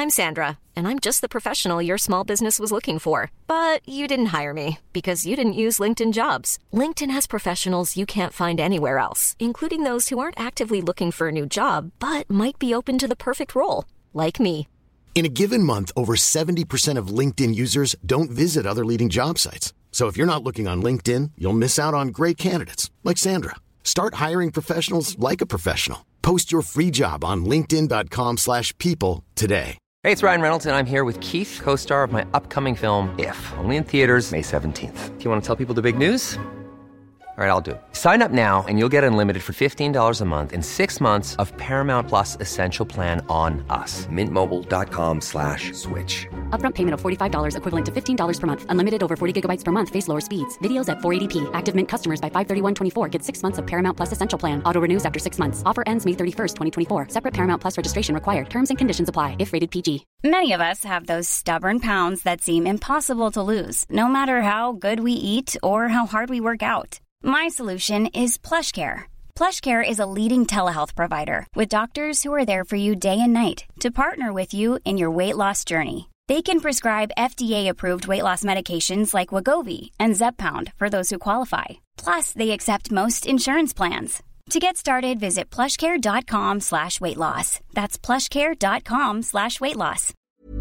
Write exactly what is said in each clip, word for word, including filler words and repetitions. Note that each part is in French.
I'm Sandra, and I'm just the professional your small business was looking for. But you didn't hire me because you didn't use LinkedIn Jobs. LinkedIn has professionals you can't find anywhere else, including those who aren't actively looking for a new job, but might be open to the perfect role, like me. In a given month, over seventy percent of LinkedIn users don't visit other leading job sites. So if you're not looking on LinkedIn, you'll miss out on great candidates like Sandra. Start hiring professionals like a professional. Post your free job on linkedin.com slash people today. Hey, it's Ryan Reynolds, and I'm here with Keith, co-star of my upcoming film, If, only in theaters May seventeenth. Do you want to tell people the big news? All right, I'll do it. Sign up now and you'll get unlimited for fifteen dollars a month and six months of Paramount Plus Essential Plan on us. Mint Mobile dot com slash switch. Upfront payment of forty-five dollars equivalent to fifteen dollars per month. Unlimited over forty gigabytes per month. Face lower speeds. Videos at four eighty p. Active Mint customers by five thirty-one twenty-four get six months of Paramount Plus Essential Plan. Auto renews after six months. Offer ends May thirty-first, twenty twenty-four. Separate Paramount Plus registration required. Terms and conditions apply if rated P G. Many of us have those stubborn pounds that seem impossible to lose, no matter how good we eat or how hard we work out. My solution is PlushCare. PlushCare is a leading telehealth provider with doctors who are there for you day and night to partner with you in your weight loss journey. They can prescribe F D A-approved weight loss medications like Wegovy and Zepbound for those who qualify. Plus, they accept most insurance plans. To get started, visit plushcare.com slash weight loss. That's plushcare.com slash weight loss.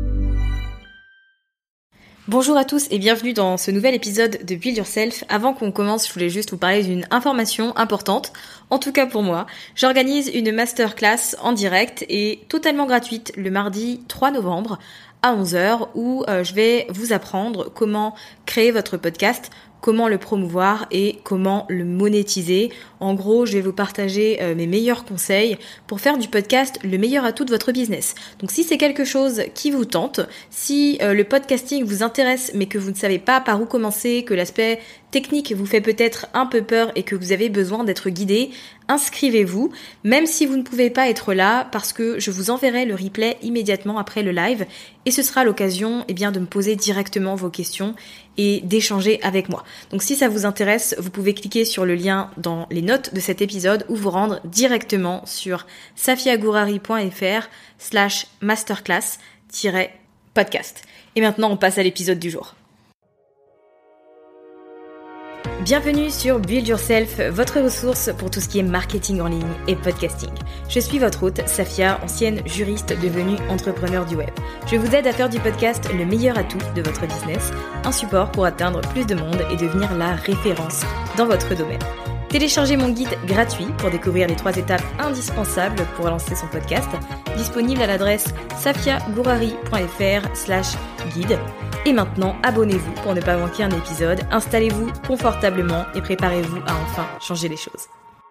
Bonjour à tous et bienvenue dans ce nouvel épisode de Build Yourself. Avant qu'on commence, je voulais juste vous parler d'une information importante, en tout cas pour moi. J'organise une masterclass en direct et totalement gratuite le mardi trois novembre à onze heures où euh, je vais vous apprendre comment créer votre podcast, comment le promouvoir et comment le monétiser. En gros, je vais vous partager euh, mes meilleurs conseils pour faire du podcast le meilleur atout de votre business. Donc si c'est quelque chose qui vous tente, si euh, le podcasting vous intéresse mais que vous ne savez pas par où commencer, que l'aspect technique vous fait peut-être un peu peur et que vous avez besoin d'être guidé, inscrivez-vous, même si vous ne pouvez pas être là parce que je vous enverrai le replay immédiatement après le live et ce sera l'occasion eh bien, de me poser directement vos questions et d'échanger avec moi. Donc si ça vous intéresse, vous pouvez cliquer sur le lien dans les notes de cet épisode ou vous rendre directement sur safiagourari.fr slash masterclass podcast. Et maintenant, on passe à l'épisode du jour. Bienvenue sur Build Yourself, votre ressource pour tout ce qui est marketing en ligne et podcasting. Je suis votre hôte, Safia, ancienne juriste devenue entrepreneur du web. Je vous aide à faire du podcast le meilleur atout de votre business, un support pour atteindre plus de monde et devenir la référence dans votre domaine. Téléchargez mon guide gratuit pour découvrir les trois étapes indispensables pour lancer son podcast, disponible à l'adresse safiagourari.fr slash guide. Et maintenant, abonnez-vous pour ne pas manquer un épisode, installez-vous confortablement et préparez-vous à enfin changer les choses.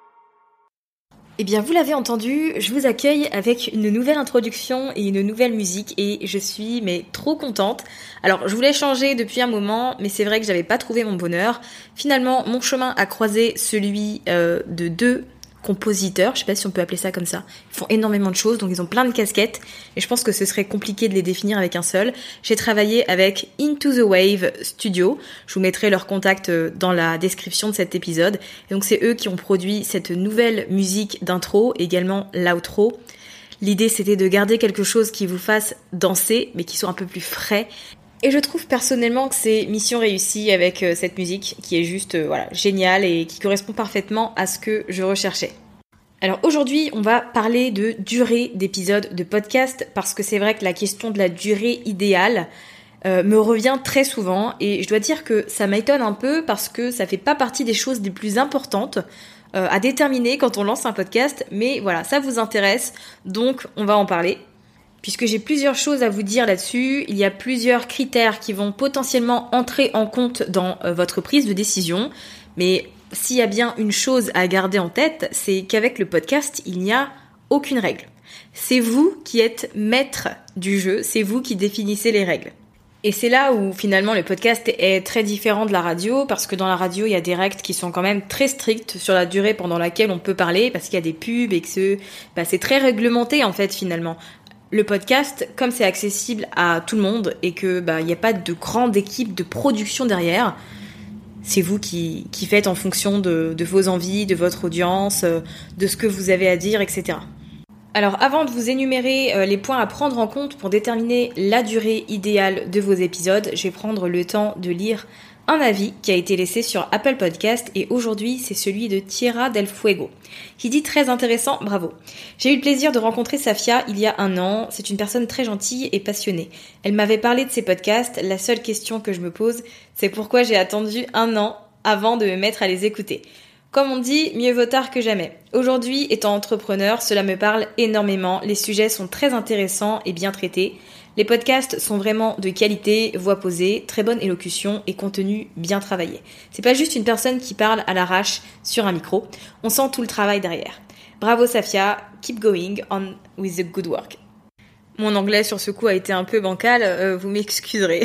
Eh bien, vous l'avez entendu, je vous accueille avec une nouvelle introduction et une nouvelle musique et je suis mais trop contente. Alors, je voulais changer depuis un moment, mais c'est vrai que j'avais pas trouvé mon bonheur. Finalement, mon chemin a croisé celui euh, de deux compositeurs, je sais pas si on peut appeler ça comme ça. Ils font énormément de choses, donc ils ont plein de casquettes et je pense que ce serait compliqué de les définir avec un seul. J'ai travaillé avec Into the Wave Studio, je vous mettrai leur contact dans la description de cet épisode. Et donc c'est eux qui ont produit cette nouvelle musique d'intro, également l'outro. L'idée c'était de garder quelque chose qui vous fasse danser, mais qui soit un peu plus frais. Et je trouve personnellement que c'est mission réussie avec euh, cette musique qui est juste euh, voilà, géniale et qui correspond parfaitement à ce que je recherchais. Alors aujourd'hui, on va parler de durée d'épisodes de podcast parce que c'est vrai que la question de la durée idéale euh, me revient très souvent et je dois dire que ça m'étonne un peu parce que ça fait pas partie des choses les plus importantes euh, à déterminer quand on lance un podcast, mais voilà, ça vous intéresse, donc on va en parler. Puisque j'ai plusieurs choses à vous dire là-dessus, il y a plusieurs critères qui vont potentiellement entrer en compte dans euh, votre prise de décision, mais s'il y a bien une chose à garder en tête, c'est qu'avec le podcast, il n'y a aucune règle. C'est vous qui êtes maître du jeu, c'est vous qui définissez les règles. Et c'est là où finalement le podcast est très différent de la radio, parce que dans la radio, il y a des règles qui sont quand même très strictes sur la durée pendant laquelle on peut parler, parce qu'il y a des pubs et que c'est, bah, c'est très réglementé en fait finalement. Le podcast, comme c'est accessible à tout le monde et que bah il n'y a pas de grande équipe de production derrière, c'est vous qui, qui faites en fonction de, de vos envies, de votre audience, de ce que vous avez à dire, et cetera. Alors avant de vous énumérer euh, les points à prendre en compte pour déterminer la durée idéale de vos épisodes, je vais prendre le temps de lire un avis qui a été laissé sur Apple Podcast et aujourd'hui c'est celui de Tierra del Fuego qui dit très intéressant, bravo. J'ai eu le plaisir de rencontrer Safia il y a un an, c'est une personne très gentille et passionnée. Elle m'avait parlé de ses podcasts, la seule question que je me pose c'est pourquoi j'ai attendu un an avant de me mettre à les écouter. Comme on dit, mieux vaut tard que jamais. Aujourd'hui, étant entrepreneur, cela me parle énormément, les sujets sont très intéressants et bien traités. Les podcasts sont vraiment de qualité, voix posée, très bonne élocution et contenu bien travaillé. C'est pas juste une personne qui parle à l'arrache sur un micro, on sent tout le travail derrière. Bravo Safia, keep going on with the good work. Mon anglais sur ce coup a été un peu bancal, euh, vous m'excuserez.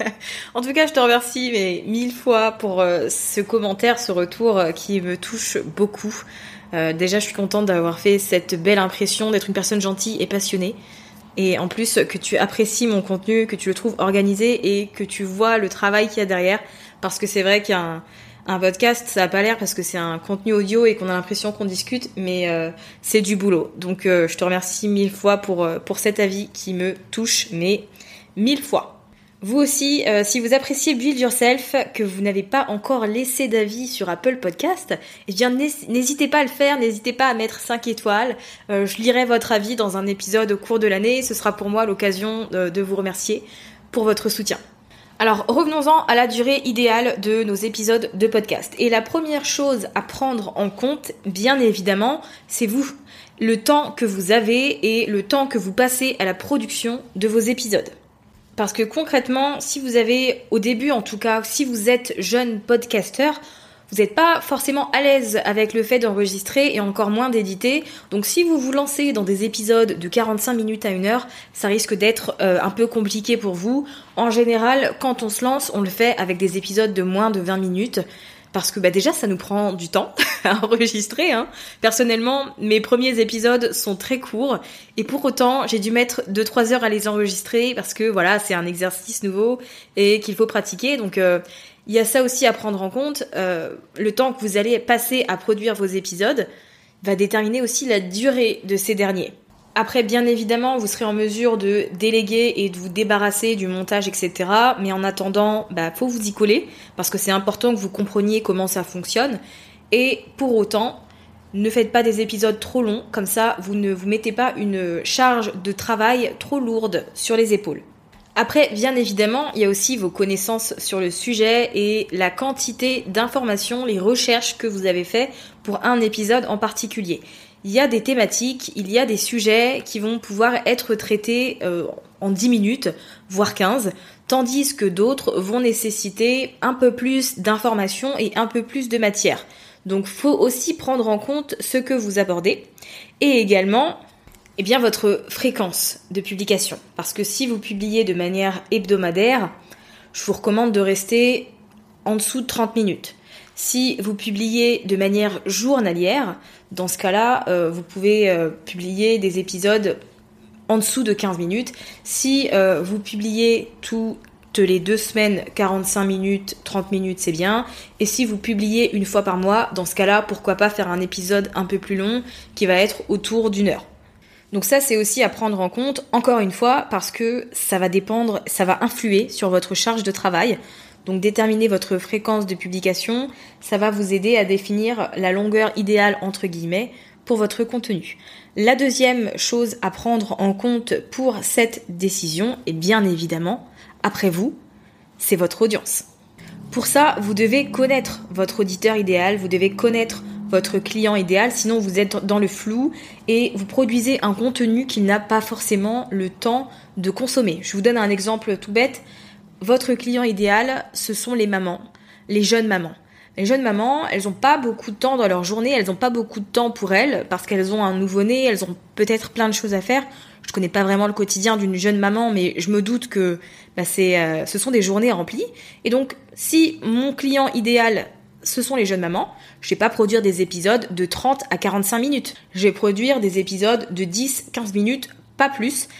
En tout cas, je te remercie mais mille fois pour euh, ce commentaire, ce retour euh, qui me touche beaucoup. Euh, déjà, je suis contente d'avoir fait cette belle impression d'être une personne gentille et passionnée. Et en plus, que tu apprécies mon contenu, que tu le trouves organisé et que tu vois le travail qu'il y a derrière. Parce que c'est vrai qu'un un podcast, ça n'a pas l'air parce que c'est un contenu audio et qu'on a l'impression qu'on discute, mais euh, c'est du boulot. Donc euh, je te remercie mille fois pour, euh, pour cet avis qui me touche, mais mille fois. Vous aussi, euh, si vous appréciez Build Yourself, que vous n'avez pas encore laissé d'avis sur Apple Podcast, eh bien n'hésitez pas à le faire, n'hésitez pas à mettre cinq étoiles. Euh, je lirai votre avis dans un épisode au cours de l'année. Ce sera pour moi l'occasion de, de vous remercier pour votre soutien. Alors revenons-en à la durée idéale de nos épisodes de podcast. Et la première chose à prendre en compte, bien évidemment, c'est vous. Le temps que vous avez et le temps que vous passez à la production de vos épisodes. Parce que concrètement, si vous avez, au début en tout cas, si vous êtes jeune podcasteur, vous n'êtes pas forcément à l'aise avec le fait d'enregistrer et encore moins d'éditer. Donc si vous vous lancez dans des épisodes de quarante-cinq minutes à une heure, ça risque d'être euh, un peu compliqué pour vous. En général, quand on se lance, on le fait avec des épisodes de moins de vingt minutes. Parce que bah déjà, ça nous prend du temps à enregistrer. Hein. Personnellement, mes premiers épisodes sont très courts. Et pour autant, j'ai dû mettre deux trois heures à les enregistrer parce que voilà, c'est un exercice nouveau et qu'il faut pratiquer. Donc euh, il y a ça aussi à prendre en compte. Euh, le temps que vous allez passer à produire vos épisodes va déterminer aussi la durée de ces derniers. Après, bien évidemment, vous serez en mesure de déléguer et de vous débarrasser du montage, et cetera. Mais en attendant, bah, faut vous y coller parce que c'est important que vous compreniez comment ça fonctionne. Et pour autant, ne faites pas des épisodes trop longs. Comme ça, vous ne vous mettez pas une charge de travail trop lourde sur les épaules. Après, bien évidemment, il y a aussi vos connaissances sur le sujet et la quantité d'informations, les recherches que vous avez fait pour un épisode en particulier. Il y a des thématiques, il y a des sujets qui vont pouvoir être traités euh, en dix minutes, voire quinze, tandis que d'autres vont nécessiter un peu plus d'informations et un peu plus de matière. Donc, faut aussi prendre en compte ce que vous abordez et également eh bien, votre fréquence de publication. Parce que si vous publiez de manière hebdomadaire, je vous recommande de rester en dessous de trente minutes. Si vous publiez de manière journalière, dans ce cas-là, euh, vous pouvez euh, publier des épisodes en dessous de quinze minutes. Si euh, vous publiez toutes les deux semaines, quarante-cinq minutes, trente minutes, c'est bien. Et si vous publiez une fois par mois, dans ce cas-là, pourquoi pas faire un épisode un peu plus long qui va être autour d'une heure. Donc ça, c'est aussi à prendre en compte, encore une fois, parce que ça va dépendre, ça va influer sur votre charge de travail. Donc déterminer votre fréquence de publication, ça va vous aider à définir la longueur idéale entre guillemets pour votre contenu. La deuxième chose à prendre en compte pour cette décision, et bien évidemment, après vous, c'est votre audience. Pour ça, vous devez connaître votre auditeur idéal, vous devez connaître votre client idéal, sinon vous êtes dans le flou et vous produisez un contenu qu'il n'a pas forcément le temps de consommer. Je vous donne un exemple tout bête. Votre client idéal, ce sont les mamans, les jeunes mamans. Les jeunes mamans, elles n'ont pas beaucoup de temps dans leur journée, elles n'ont pas beaucoup de temps pour elles parce qu'elles ont un nouveau-né, elles ont peut-être plein de choses à faire. Je connais pas vraiment le quotidien d'une jeune maman, mais je me doute que bah, c'est, euh, ce sont des journées remplies. Et donc, si mon client idéal, ce sont les jeunes mamans, je vais pas produire des épisodes de trente à quarante-cinq minutes. Je vais produire des épisodes de dix à quinze minutes, pas plus.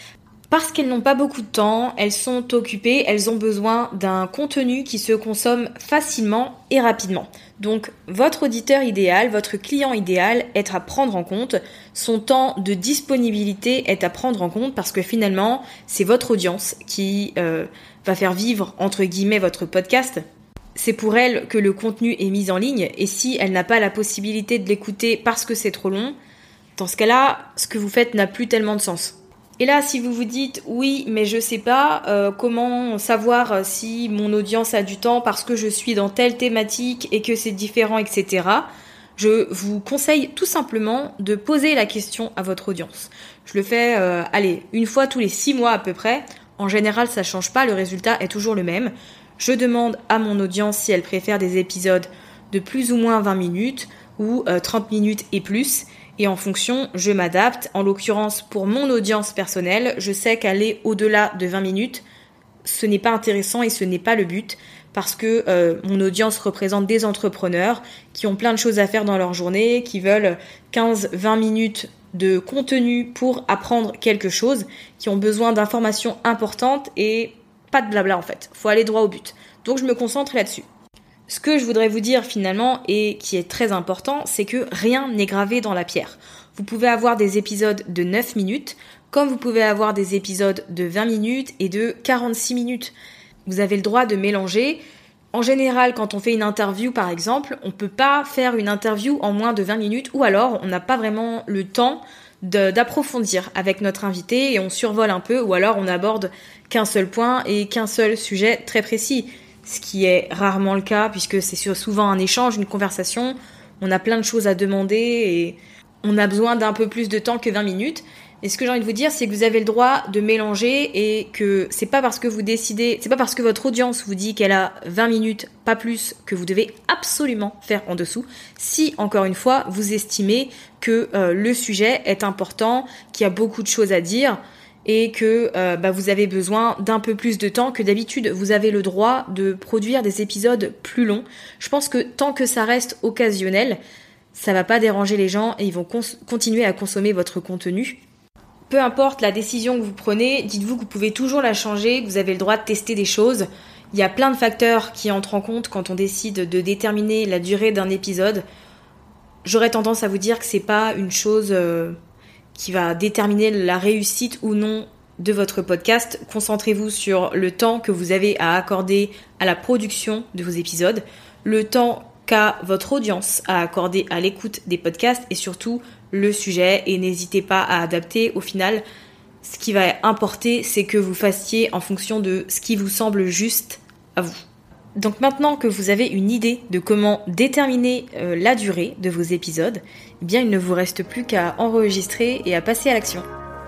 Parce qu'elles n'ont pas beaucoup de temps, elles sont occupées, elles ont besoin d'un contenu qui se consomme facilement et rapidement. Donc votre auditeur idéal, votre client idéal est à prendre en compte, son temps de disponibilité est à prendre en compte parce que finalement c'est votre audience qui euh, va faire vivre entre guillemets votre podcast. C'est pour elle que le contenu est mis en ligne et si elle n'a pas la possibilité de l'écouter parce que c'est trop long, dans ce cas-là, ce que vous faites n'a plus tellement de sens. Et là, si vous vous dites « oui, mais je sais pas euh, comment savoir si mon audience a du temps parce que je suis dans telle thématique et que c'est différent, et cetera » Je vous conseille tout simplement de poser la question à votre audience. Je le fais, euh, allez, une fois tous les six mois à peu près. En général, ça change pas, le résultat est toujours le même. Je demande à mon audience si elle préfère des épisodes de plus ou moins vingt minutes ou euh, trente minutes et plus. Et en fonction, je m'adapte. En l'occurrence, pour mon audience personnelle, je sais qu'aller au-delà de vingt minutes, ce n'est pas intéressant et ce n'est pas le but parce que euh, mon audience représente des entrepreneurs qui ont plein de choses à faire dans leur journée, qui veulent quinze à vingt minutes de contenu pour apprendre quelque chose, qui ont besoin d'informations importantes et pas de blabla en fait. Faut aller droit au but. Donc je me concentre là-dessus. Ce que je voudrais vous dire finalement et qui est très important, c'est que rien n'est gravé dans la pierre. Vous pouvez avoir des épisodes de neuf minutes, comme vous pouvez avoir des épisodes de vingt minutes et de quarante-six minutes. Vous avez le droit de mélanger. En général, quand on fait une interview par exemple, on peut pas faire une interview en moins de vingt minutes ou alors on n'a pas vraiment le temps de, d'approfondir avec notre invité et on survole un peu ou alors on aborde qu'un seul point et qu'un seul sujet très précis. Ce qui est rarement le cas puisque c'est souvent un échange, une conversation, on a plein de choses à demander et on a besoin d'un peu plus de temps que vingt minutes. Et ce que j'ai envie de vous dire, c'est que vous avez le droit de mélanger et que c'est pas parce que vous décidez, c'est pas parce que votre audience vous dit qu'elle a vingt minutes, pas plus, que vous devez absolument faire en dessous. Si, encore une fois, vous estimez que euh, le sujet est important, qu'il y a beaucoup de choses à dire, et que euh, bah, vous avez besoin d'un peu plus de temps que d'habitude. Vous avez le droit de produire des épisodes plus longs. Je pense que tant que ça reste occasionnel, ça va pas déranger les gens et ils vont cons- continuer à consommer votre contenu. Peu importe la décision que vous prenez, dites-vous que vous pouvez toujours la changer, que vous avez le droit de tester des choses. Il y a plein de facteurs qui entrent en compte quand on décide de déterminer la durée d'un épisode. J'aurais tendance à vous dire que c'est pas une chose... Euh, qui va déterminer la réussite ou non de votre podcast. Concentrez-vous sur le temps que vous avez à accorder à la production de vos épisodes, le temps qu'a votre audience à accorder à l'écoute des podcasts et surtout le sujet. Et n'hésitez pas à adapter. Au final, ce qui va importer, c'est que vous fassiez en fonction de ce qui vous semble juste à vous. Donc maintenant que vous avez une idée de comment déterminer euh, la durée de vos épisodes, eh bien il ne vous reste plus qu'à enregistrer et à passer à l'action.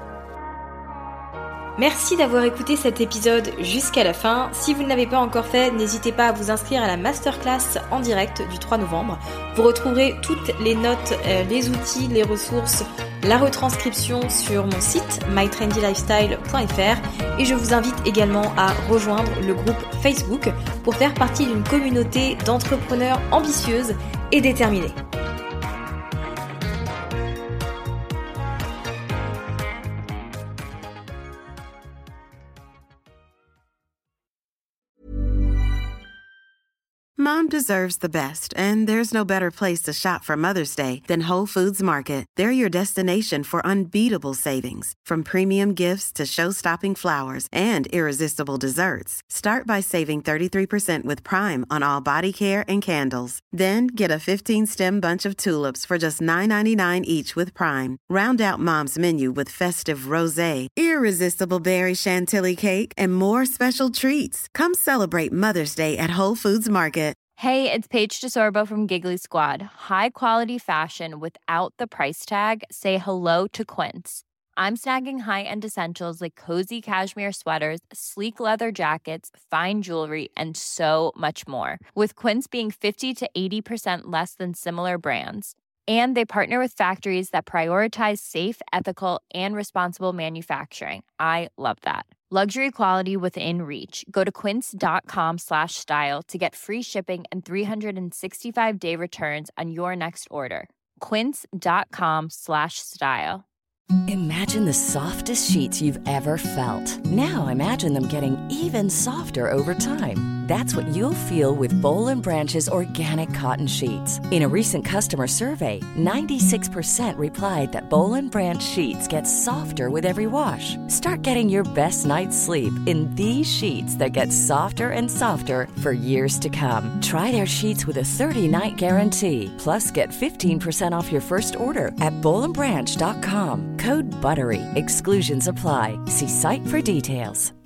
Merci d'avoir écouté cet épisode jusqu'à la fin. Si vous ne l'avez pas encore fait, n'hésitez pas à vous inscrire à la masterclass en direct du trois novembre. Vous retrouverez toutes les notes, euh, les outils, les ressources, la retranscription sur mon site my trendy lifestyle point f r et je vous invite également à rejoindre le groupe Facebook pour faire partie d'une communauté d'entrepreneurs ambitieuses et déterminées. Mom deserves the best, and there's no better place to shop for Mother's Day than Whole Foods Market. They're your destination for unbeatable savings, from premium gifts to show-stopping flowers and irresistible desserts. Start by saving thirty-three percent with Prime on all body care and candles. Then get a fifteen-stem bunch of tulips for just nine ninety-nine each with Prime. Round out Mom's menu with festive rosé, irresistible berry chantilly cake, and more special treats. Come celebrate Mother's Day at Whole Foods Market. Hey, it's Paige DeSorbo from Giggly Squad. High quality fashion without the price tag. Say hello to Quince. I'm snagging high-end essentials like cozy cashmere sweaters, sleek leather jackets, fine jewelry, and so much more. With Quince being fifty to eighty percent less than similar brands. And they partner with factories that prioritize safe, ethical, and responsible manufacturing. I love that. Luxury quality within reach. Go to quince.com slash style to get free shipping and three sixty-five day returns on your next order. Quince.com slash style. Imagine the softest sheets you've ever felt. Now imagine them getting even softer over time. That's what you'll feel with Boll and Branch's organic cotton sheets. In a recent customer survey, ninety-six percent replied that Boll and Branch sheets get softer with every wash. Start getting your best night's sleep in these sheets that get softer and softer for years to come. Try their sheets with a thirty-night guarantee. Plus, get fifteen percent off your first order at boll and branch dot com. Code BUTTERY. Exclusions apply. See site for details.